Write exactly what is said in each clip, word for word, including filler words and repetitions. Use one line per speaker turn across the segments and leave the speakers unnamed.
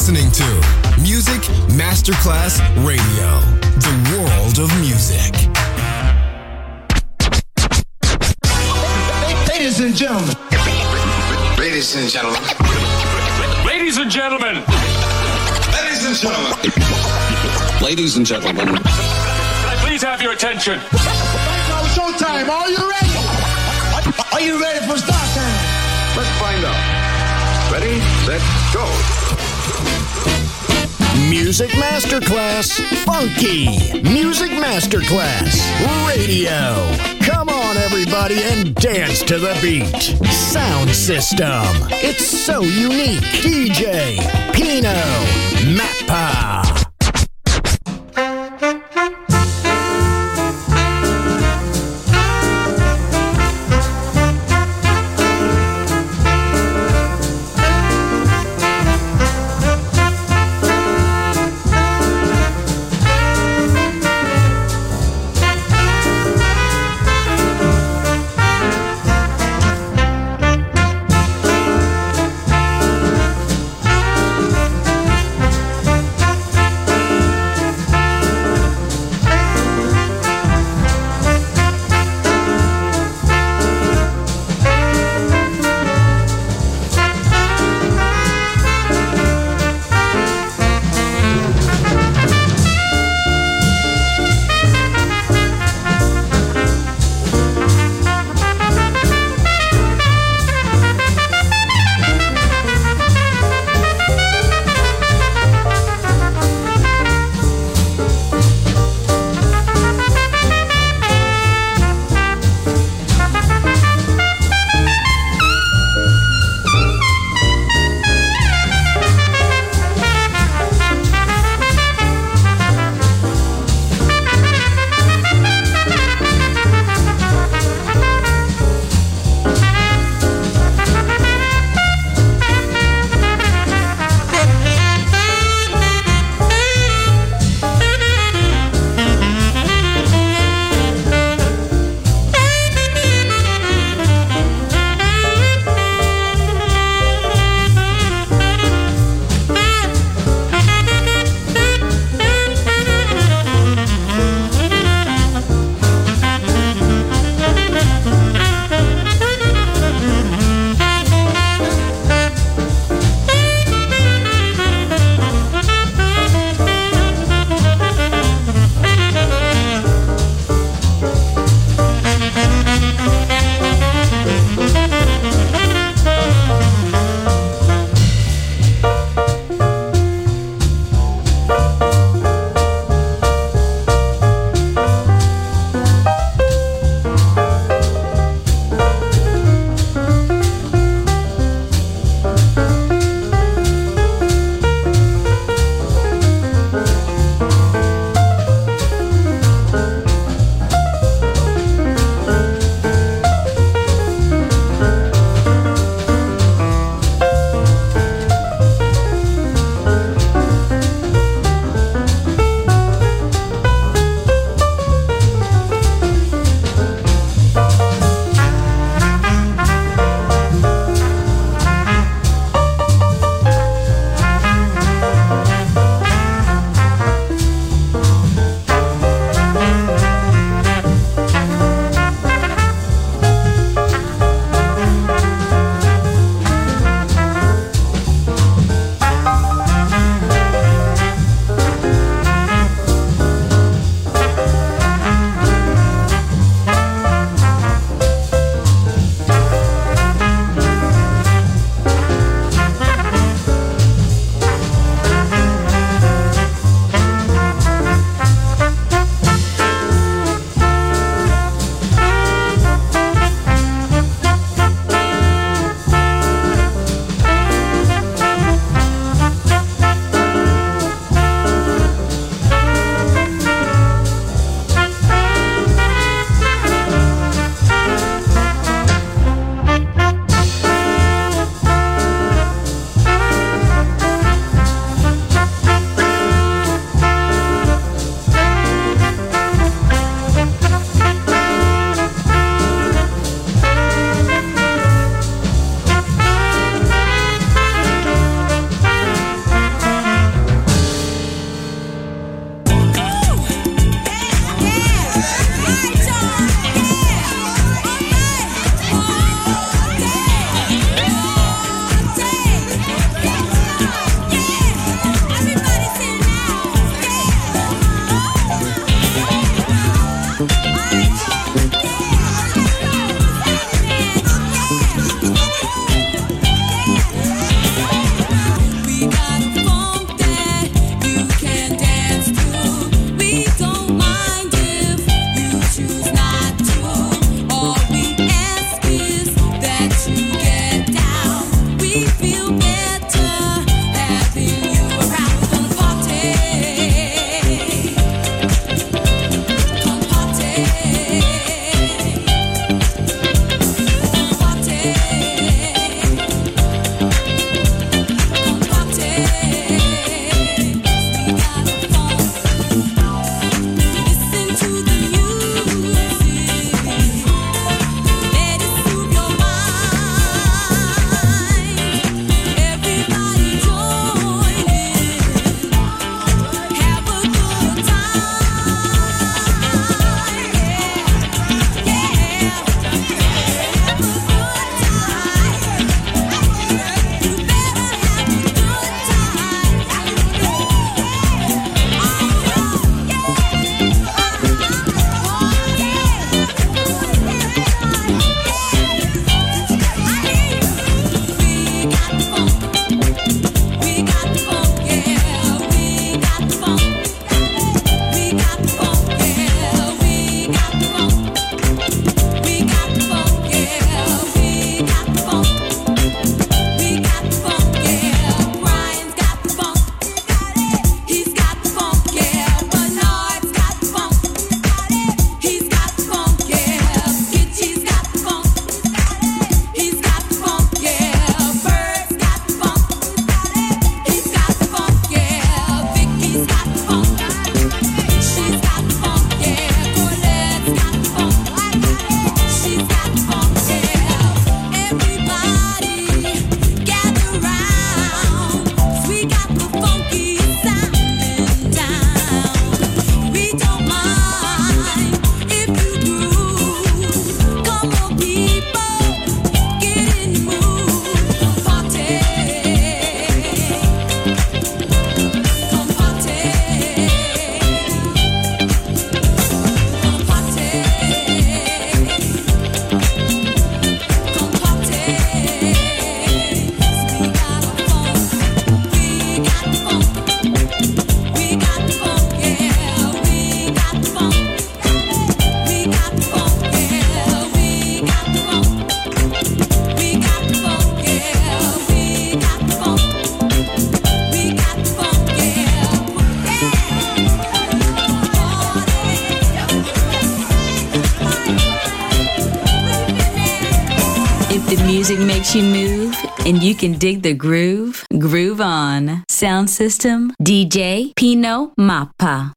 listening to Music Masterclass Radio, the world of music.
Ladies and gentlemen.
Ladies and gentlemen.
Ladies and gentlemen.
Ladies and gentlemen.
Ladies and gentlemen.
Can I please have your attention?
Now showtime. Are you ready? Are you ready for start time?
Let's find out. Ready, set, go.
Music Masterclass Funky. Music Masterclass Radio. Come on, everybody, and dance to the beat. Sound system. It's so unique. D J Pino Mappa.
Music makes you move, and you can dig the groove. Groove on. Sound system, D J Pino Mappa.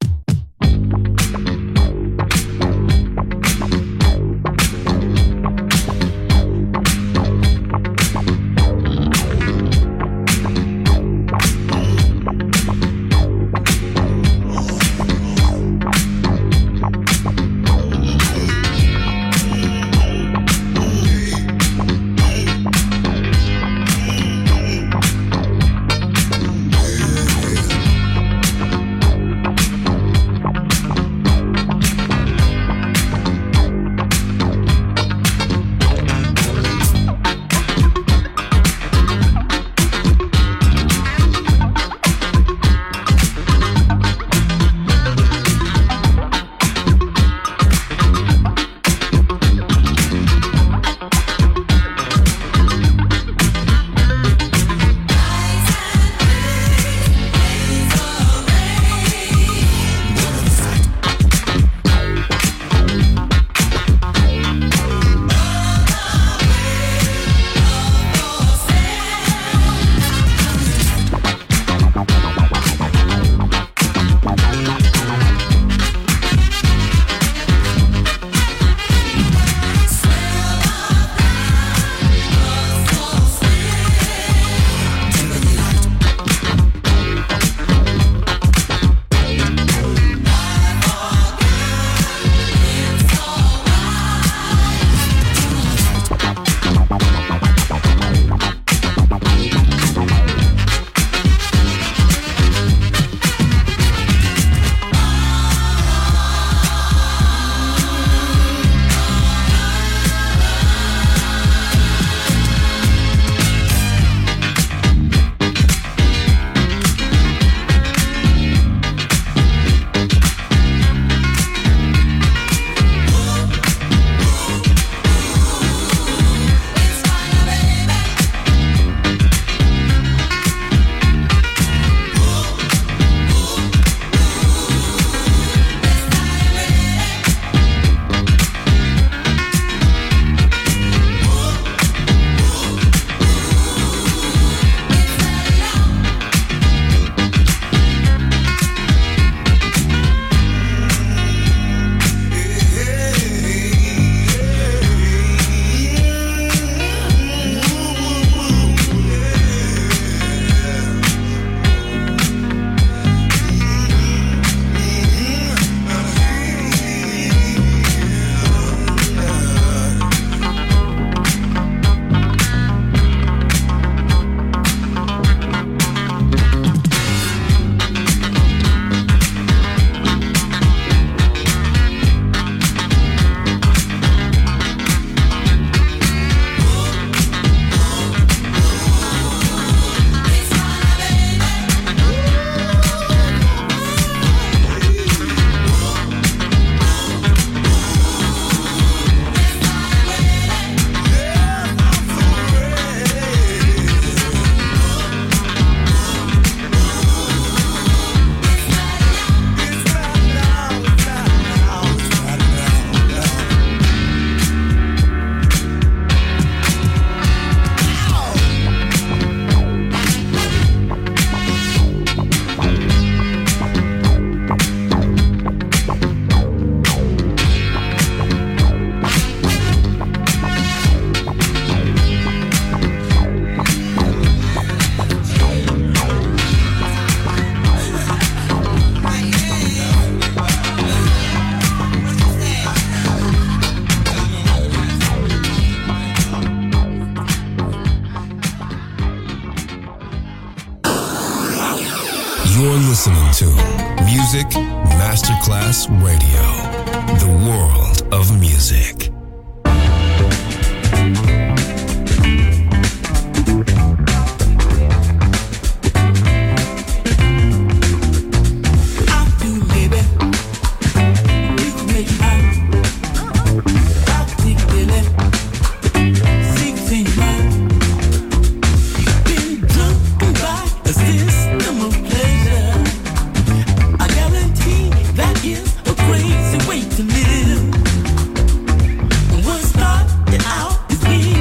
You're listening to Music Masterclass Radio, the world of music.
Crazy way to live. What started out as being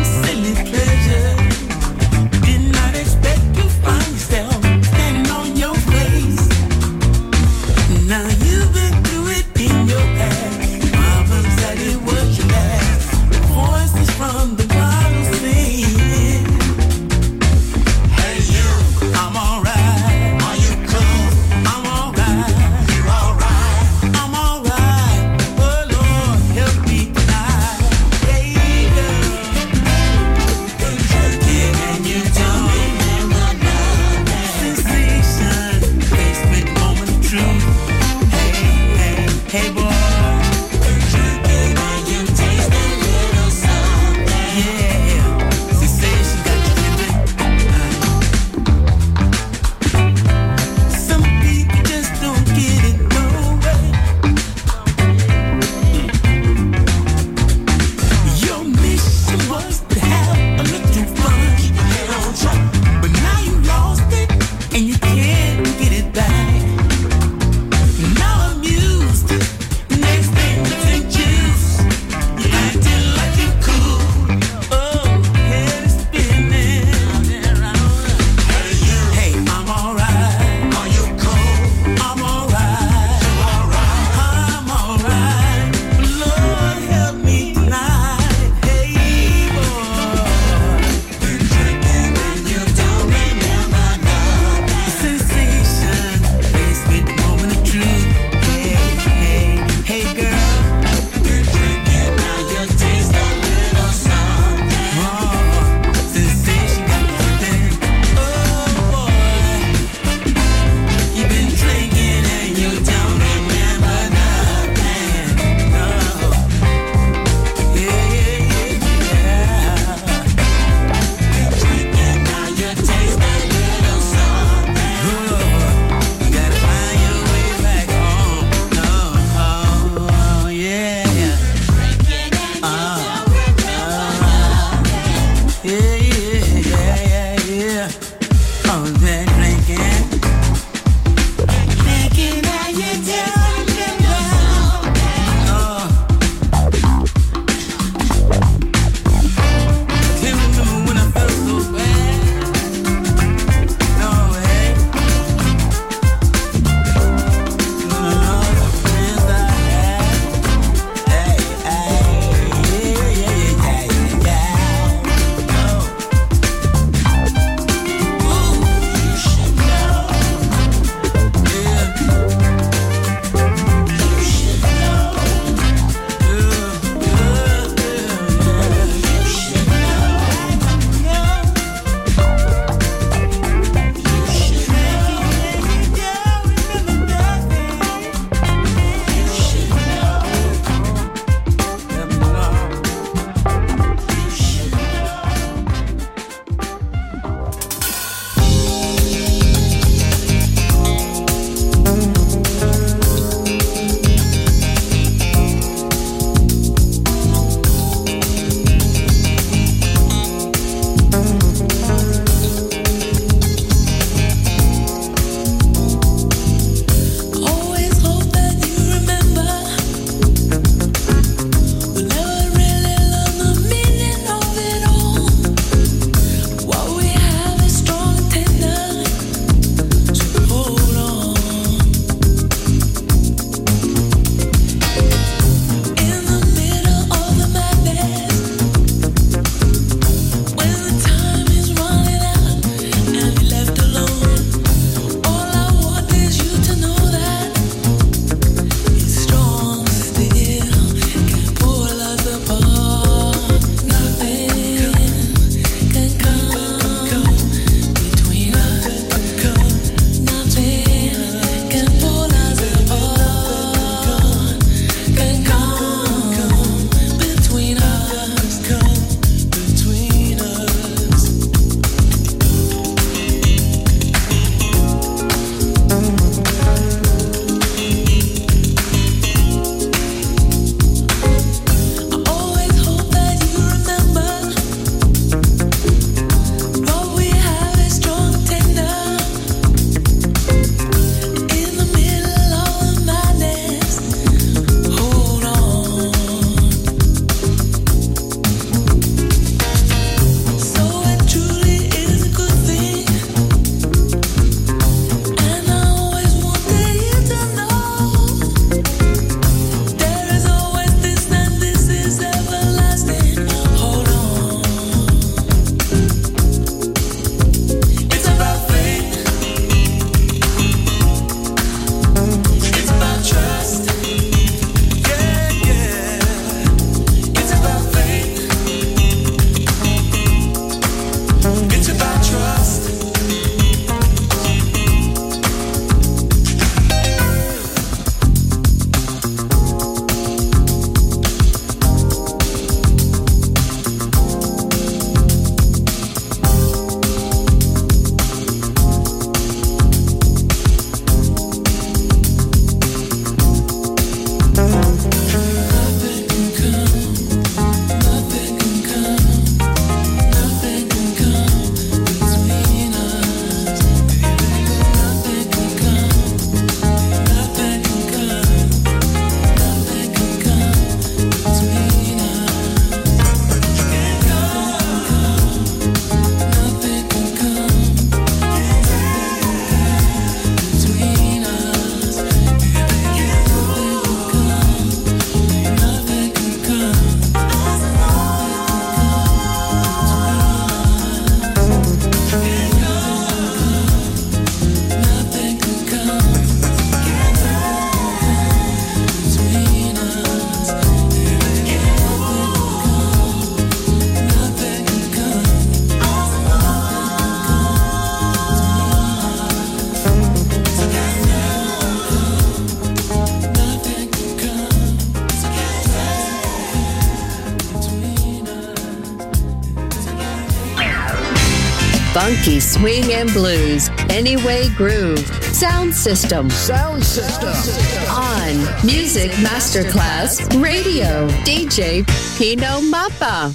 Funky swing and blues. Anyway Groove. Sound System.
Sound System.
On Music Masterclass Radio. D J Pino Mappa.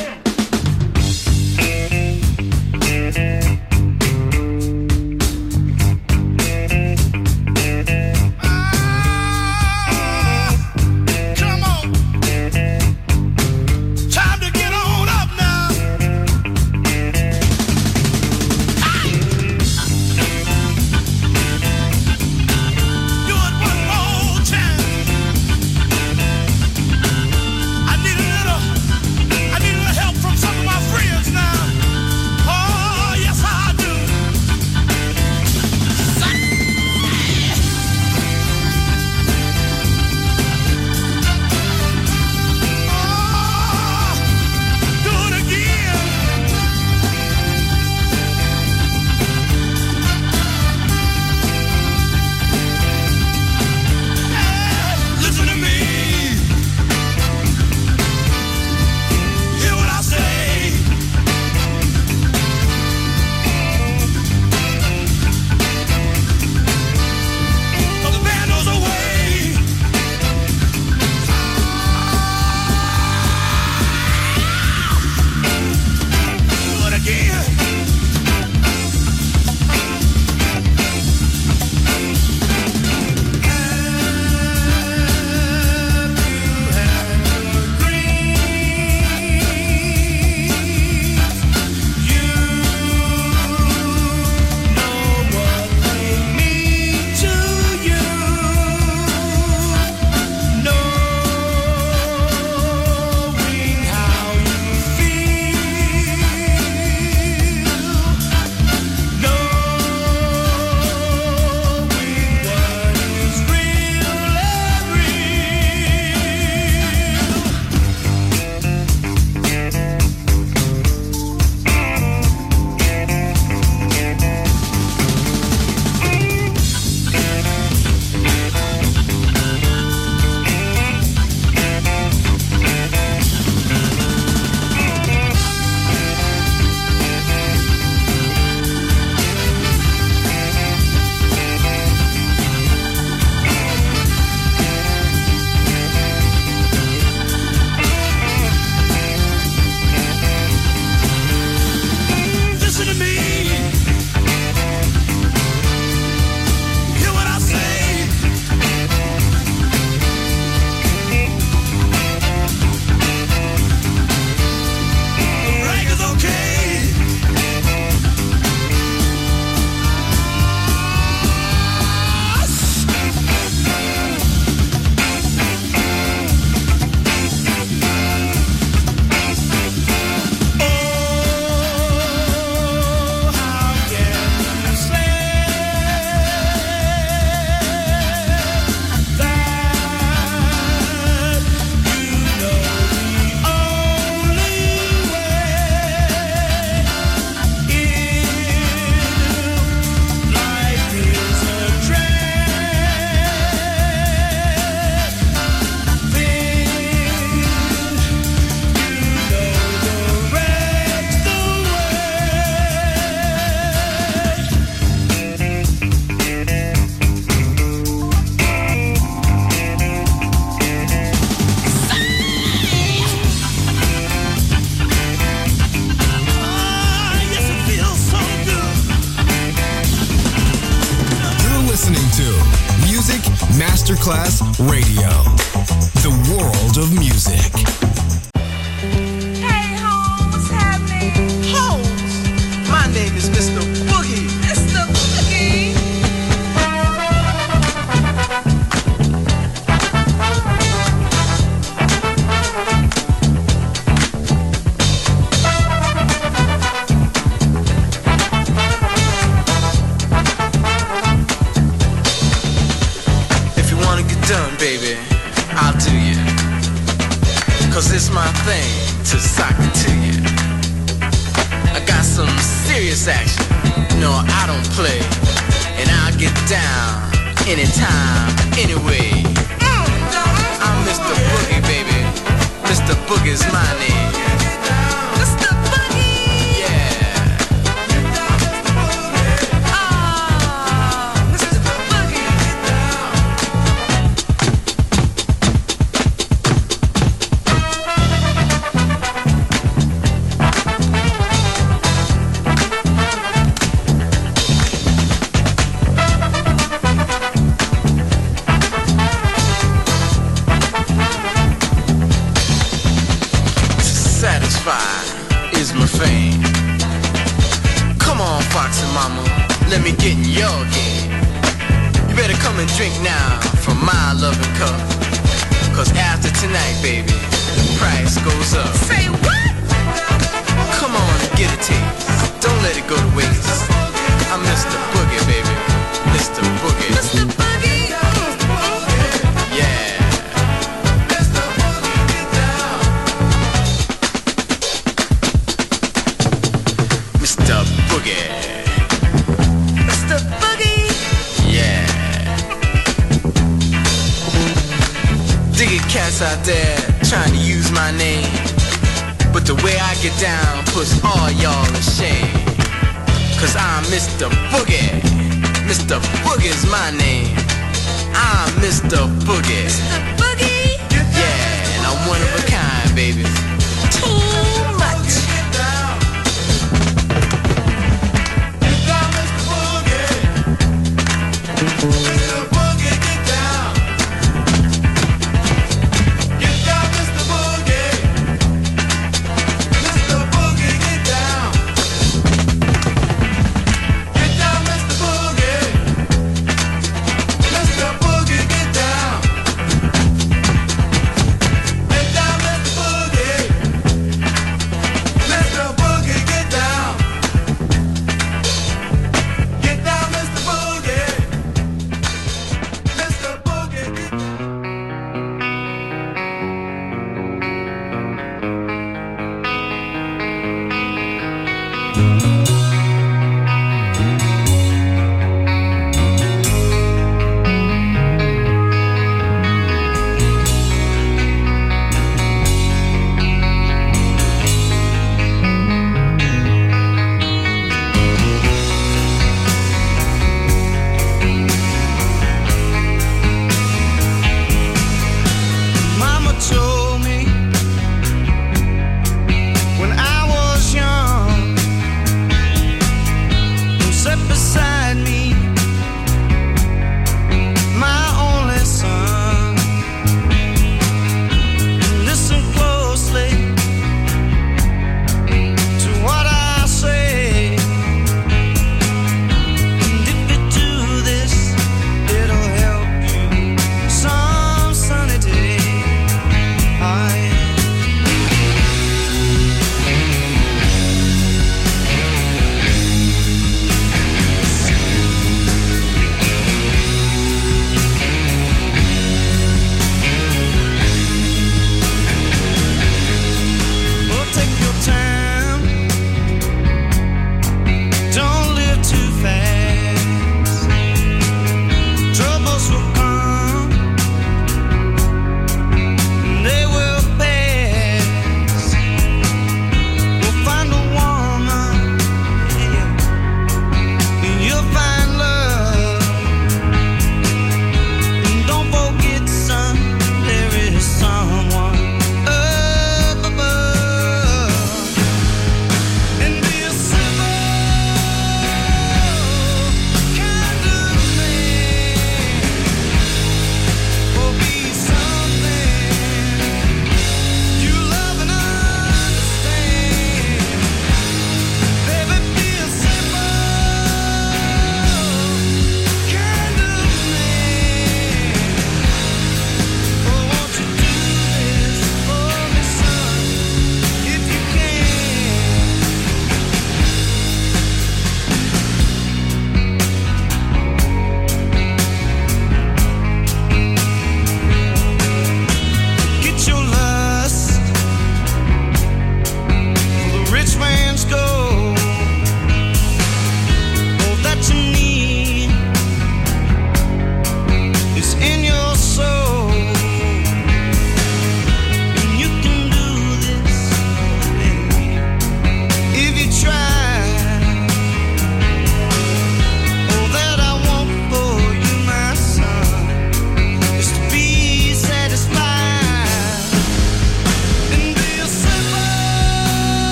Masterclass Radio, the world of music.
Hey, Holmes, what's happening? Holmes, my name is Mister Boogie. Mister Boogie. Baby, I'll do you, cause it's my thing to sock it to you. I got some serious action, no I don't play, and I'll get down anytime, anyway. I'm Mister Boogie, baby, Mister Boogie's my name. Mister Boogie! Yeah. better come and drink now from my loving cup. Cause after tonight, baby, the price goes up. Say what? Come on and get a taste. Don't let it go to waste. I'm Mister Boogie, baby. Mister Boogie. Mister Boogie. Yeah. Mister Boogie, get down. Mister Boogie. Mister Boogie. Yeah. Dig it, cats out there trying to use my name. But the way I get down puts all y'all to shame. Cause I'm Mister Boogie. Mister Boogie's my name. I'm Mister Boogie. Mister Boogie? Yeah, and I'm one of a kind, baby. Too much. Get down. Get down, Mister Boogie. Mister Boogie, get down. Get down, Mister Boogie. Mister Boogie, get down. Get down, Mister Boogie. Mister Boogie, get down. Get down, Mister Boogie. Mister Boogie, get down. Get down, Mister Boogie.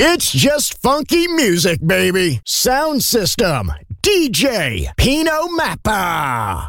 It's just funky music, baby. Sound system, D J Pino Mappa.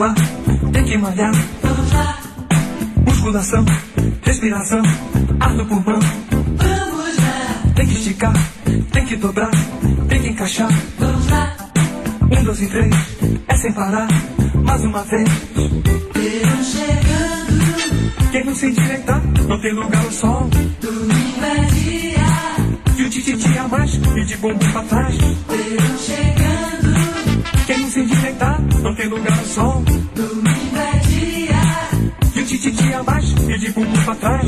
suar, tem que malhar. Vamos lá. Musculação, respiração, ar no pulmão. Vamos lá. Tem que esticar, tem que dobrar, tem que encaixar. Vamos lá. Um, dois e três, é sem parar, mais uma vez. Verão chegando. Quem não se endireitar, não tem lugar ao sol. Domingo é dia. E o tititi a mais, e de bumbum pra trás. Verão chegando. Quem não se endireitar, não tem lugar ao sol. Domingo é dia. E o tititi a mais, e de bumbum pra trás.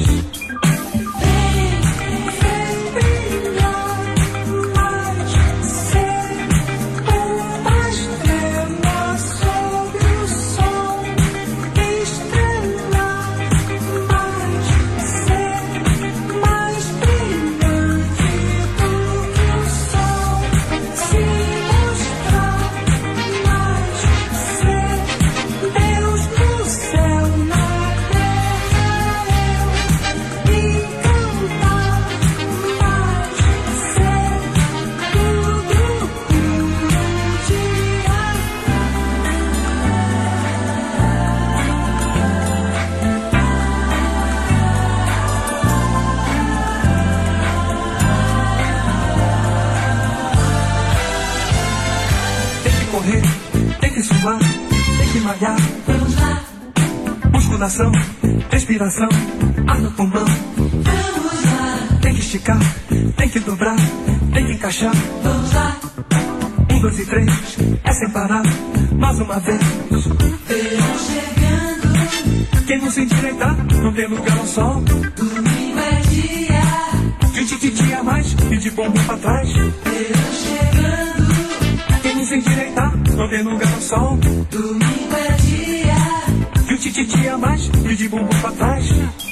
Vamos lá. Musculação, respiração, ar no pulmão. Vamos lá. Tem que esticar, tem que dobrar, tem que encaixar. Vamos lá. Um, dois e três, é sem parar, mais uma vez. Verão chegando. Quem não se endireitar, não tem lugar ao sol. Domingo é dia. De tititi a mais, e de bumbum pra trás. Verão chegando. Quem não se endireitar, não tem lugar ao sol. Domingo é dia. E o tititi a mais, e de bumbum pra trás.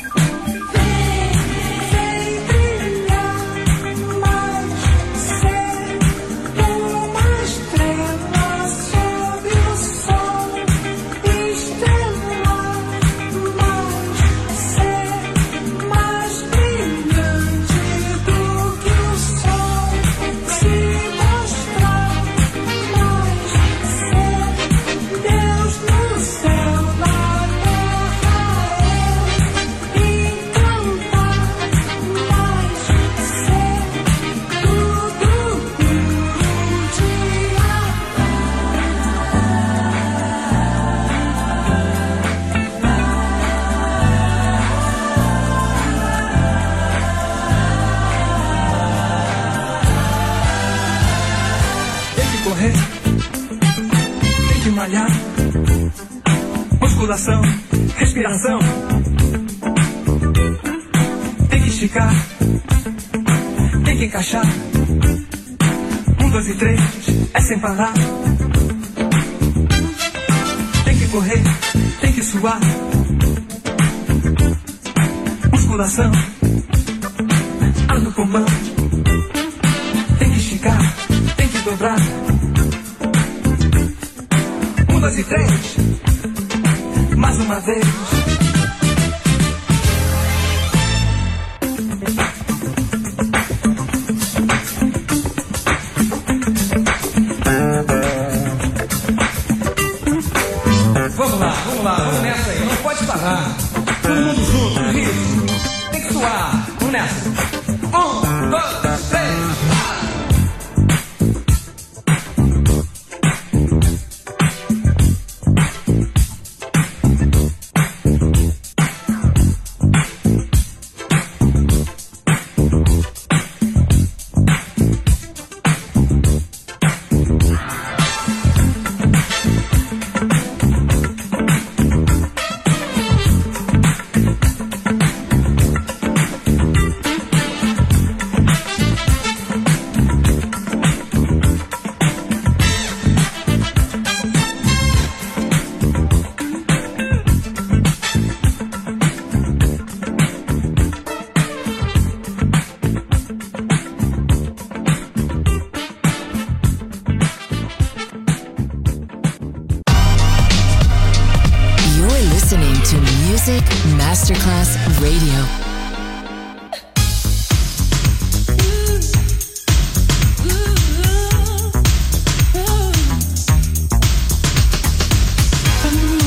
Musculação, respiração. Tem que esticar, tem que encaixar. Um, dois e três, é sem parar. Tem que correr, tem que suar. Musculação, ar no pulmão. Tem que esticar, tem que dobrar. Um, dois e três, mais uma vez.
Vamos lá, vamos lá, vamos nessa aí, não pode parar. Todo mundo junto, no ritmo. Tem que suar, vamos nessa. Um, dois, três, quatro.
Music Masterclass Radio.
From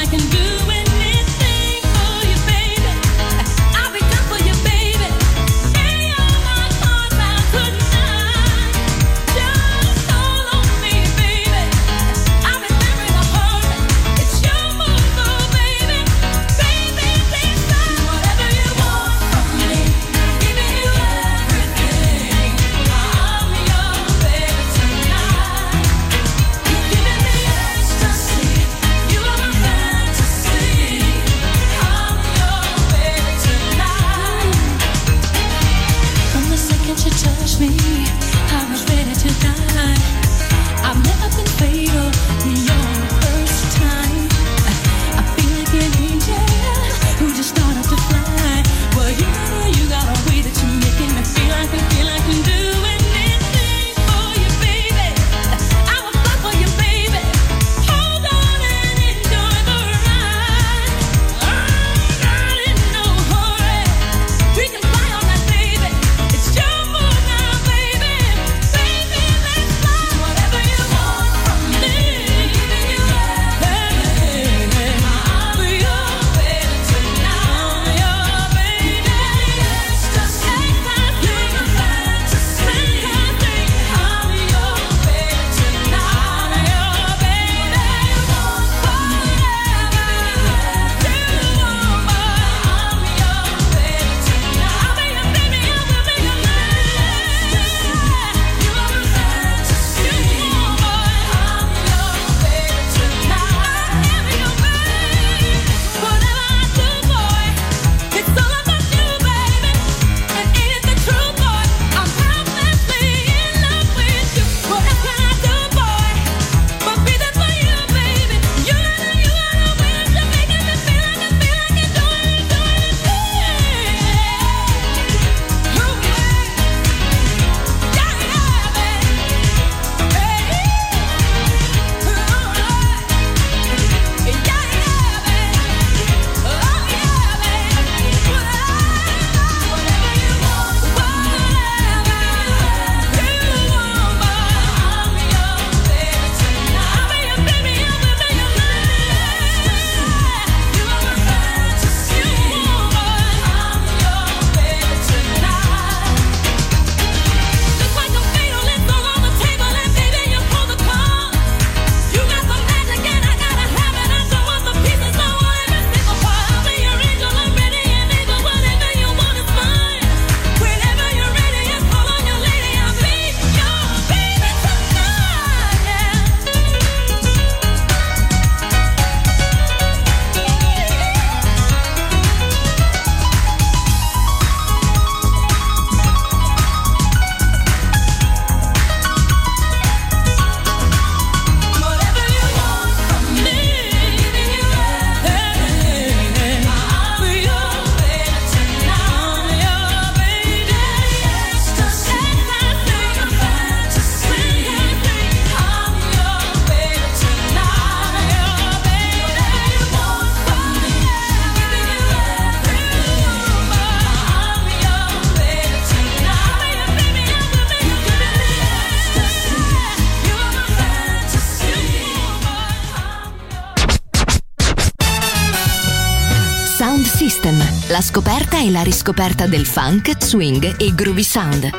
Sound System, la scoperta e la riscoperta del funk, swing e groovy sound.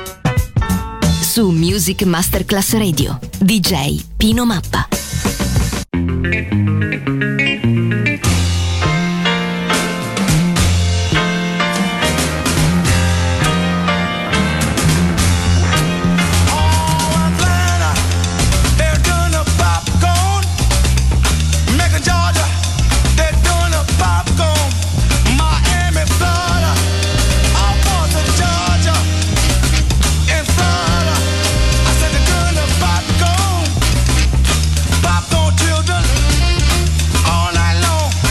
Su Music Masterclass Radio, D J Pino Mappa.
Popcorn children all night long.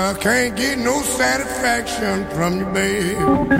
I can't get no satisfaction from you, babe.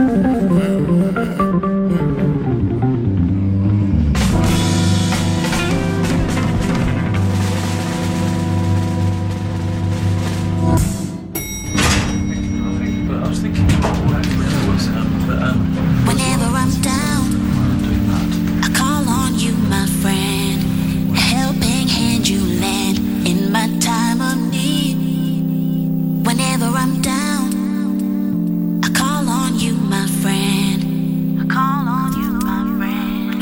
Whenever I'm down, I call on you, my friend. A helping hand you lend in my time of need. Whenever I'm down, I call on you, my friend. I call on you, my friend.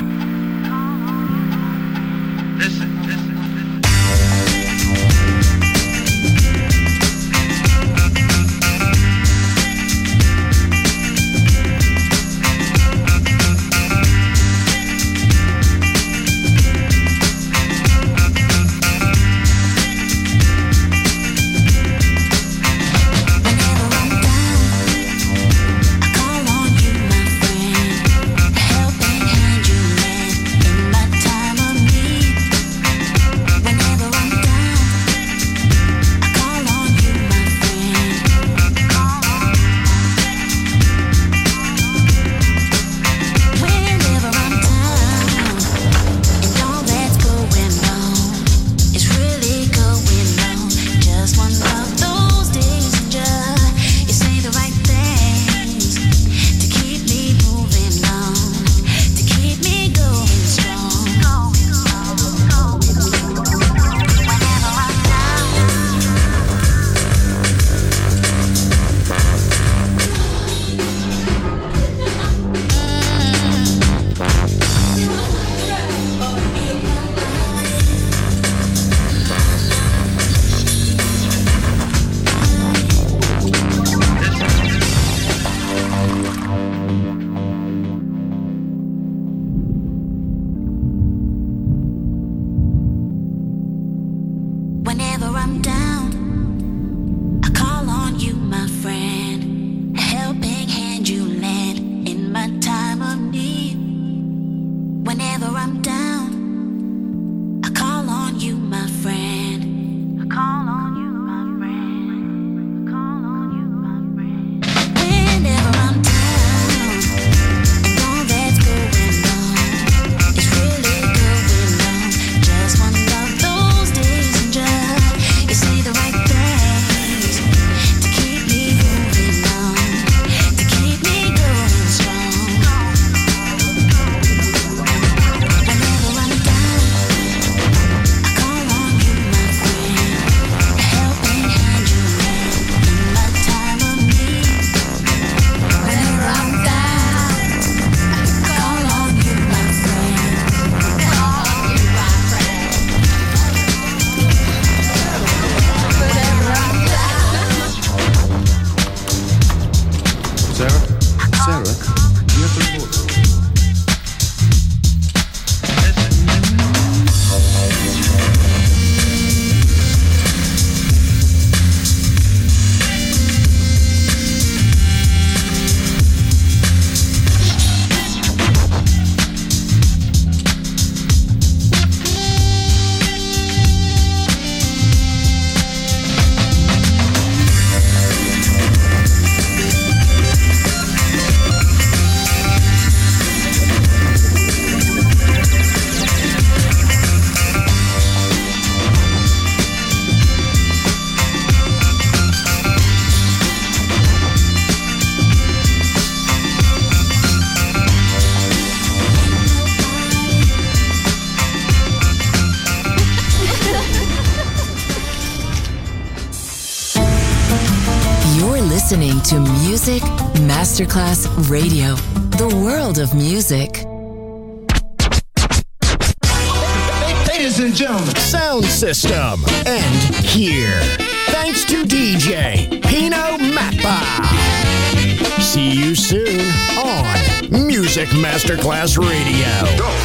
Listen, listen. Whenever I'm down, I call on you, my friend. A helping hand you lend in my time of need. Whenever I'm down, I call on you, my friend. I call on you, my friend. I call on you, my friend. Whenever I'm down, and all that's going on is really going on. Just one of those days and just you say the right things to keep me moving on, to keep me going strong. Whenever I'm down, I call on you, my friend. A helping hand you lend in my time of need. Whenever I'm down, I call on you, my friend. Call on you, my friend. Whenever I'm down.
Sarah? Sarah? You have to report.
You're listening to Music Masterclass Radio, the world of music.
Ladies and gentlemen, sound system, and here. Thanks to D J Pino Mappa. See you soon on Music Masterclass Radio.